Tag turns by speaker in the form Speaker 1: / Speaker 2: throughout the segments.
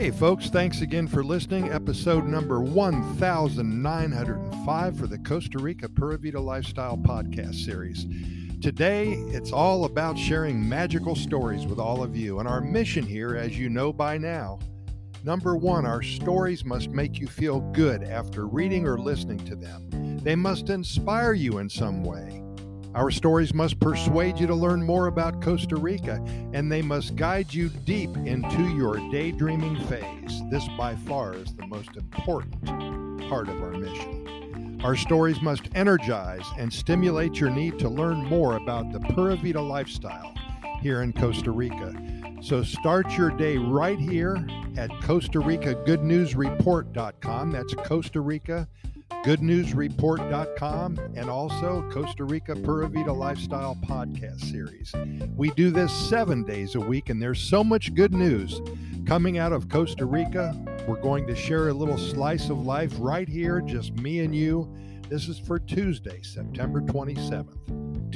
Speaker 1: Hey folks, thanks again for listening. Episode number 1905 for the Costa Rica Pura Vida Lifestyle Podcast Series. Today, it's all about sharing magical stories with all of you. And our mission here, as you know by now, number one, our stories must make you feel good after reading or listening to them. They must inspire you in some way. Our stories must persuade you to learn more about Costa Rica, and they must guide you deep into your daydreaming phase. This, by far, is the most important part of our mission. Our stories must energize and stimulate your need to learn more about the Pura Vida lifestyle here in Costa Rica. So start your day right here at Costa Rica GoodNewsReport.com. That's Costa Rica GoodNewsReport.com, and also Costa Rica Pura Vida Lifestyle Podcast Series. We do this 7 days a week, and there's so much good news coming out of Costa Rica. We're going to share a little slice of life right here, just me and you. This is for Tuesday, September 27th,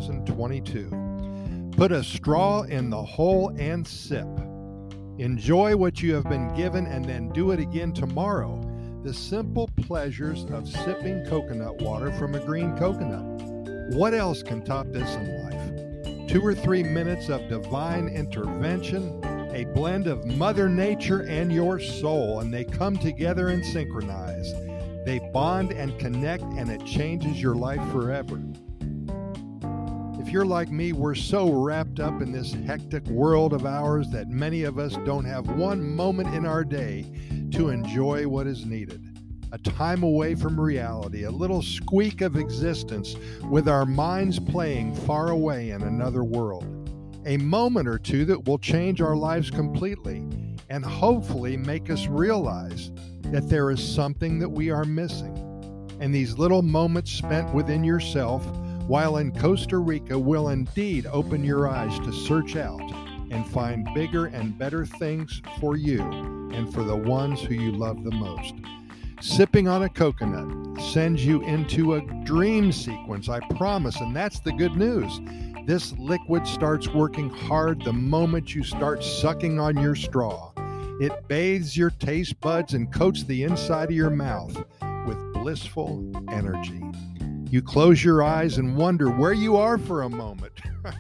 Speaker 1: 2022. Put a straw in the hole and sip. Enjoy what you have been given and then do it again tomorrow. The simple pleasures of sipping coconut water from a green coconut. What else can top this in life? 2 or 3 minutes of divine intervention, a blend of Mother Nature and your soul, and they come together and synchronize. They bond and connect, and it changes your life forever. If you're like me, we're so wrapped up in this hectic world of ours that many of us don't have one moment in our day to enjoy what is needed. A time away from reality, a little squeak of existence with our minds playing far away in another world. A moment or two that will change our lives completely and hopefully make us realize that there is something that we are missing. And these little moments spent within yourself while in Costa Rica will indeed open your eyes to search out and find bigger and better things for you and for the ones who you love the most. Sipping on a coconut sends you into a dream sequence, I promise, and that's the good news. This liquid starts working hard the moment you start sucking on your straw. It bathes your taste buds and coats the inside of your mouth with blissful energy. You close your eyes and wonder where you are for a moment.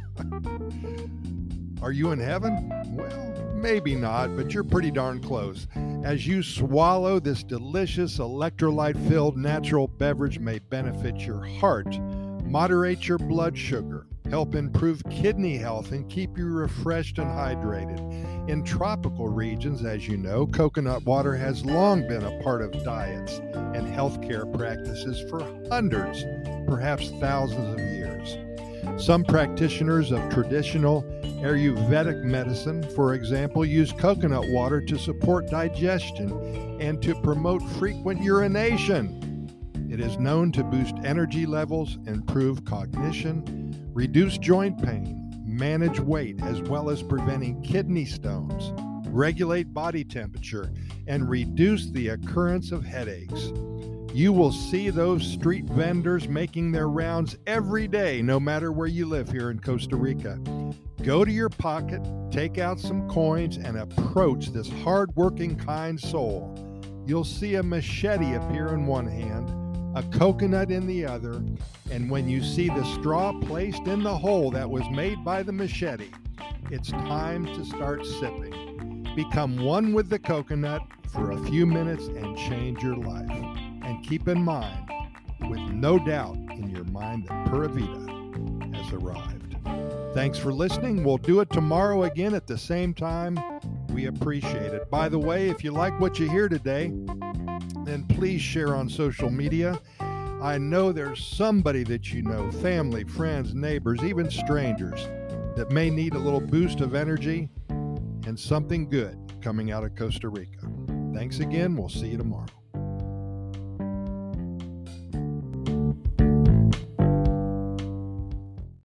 Speaker 1: Are you in heaven? Well, maybe not, but you're pretty darn close. As you swallow this delicious electrolyte-filled natural beverage may benefit your heart, moderate your blood sugar, help improve kidney health, and keep you refreshed and hydrated. In tropical regions, as you know, coconut water has long been a part of diets and healthcare practices for hundreds, perhaps thousands of years. Some practitioners of traditional Ayurvedic medicine, for example, use coconut water to support digestion and to promote frequent urination. It is known to boost energy levels, improve cognition, reduce joint pain, manage weight, as well as preventing kidney stones, regulate body temperature, and reduce the occurrence of headaches. You will see those street vendors making their rounds every day, no matter where you live here in Costa Rica. Go to your pocket, take out some coins, and approach this hard-working, kind soul. You'll see a machete appear in one hand, a coconut in the other, and when you see the straw placed in the hole that was made by the machete, it's time to start sipping. Become one with the coconut for a few minutes and change your life. And keep in mind, with no doubt in your mind, that Pura Vida has arrived. Thanks for listening. We'll do it tomorrow again at the same time. We appreciate it. By the way, if you like what you hear today, then please share on social media. I know there's somebody that you know, family, friends, neighbors, even strangers, that may need a little boost of energy and something good coming out of Costa Rica. Thanks again. We'll see you tomorrow.